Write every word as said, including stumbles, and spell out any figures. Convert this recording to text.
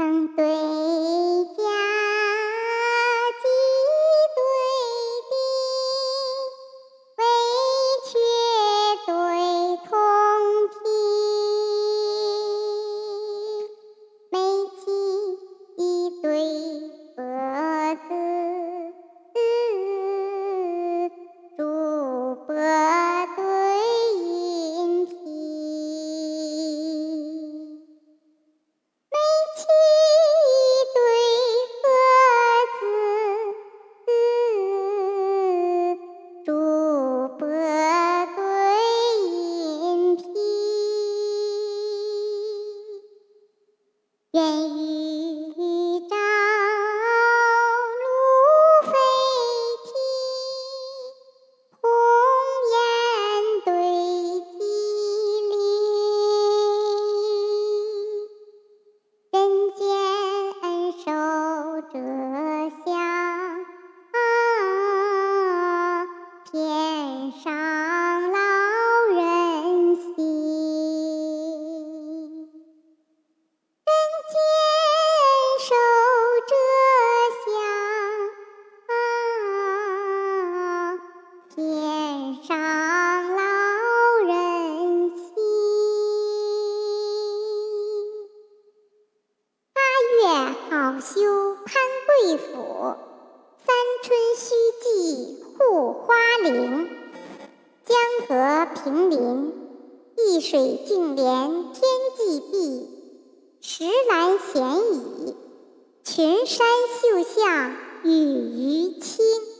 成对家，几对弟，为却对同体，每起一对鸽子，主播对音体。主播对音批，愿与朝露飞啼，鸿雁对鸡鸣，人间恩受这香，天上老人心，人间受这香，天上老人心。八月好修潘贵府，三春须记护花陵。江河平临，一水净连天际碧，石栏闲倚，群山秀向雨余青。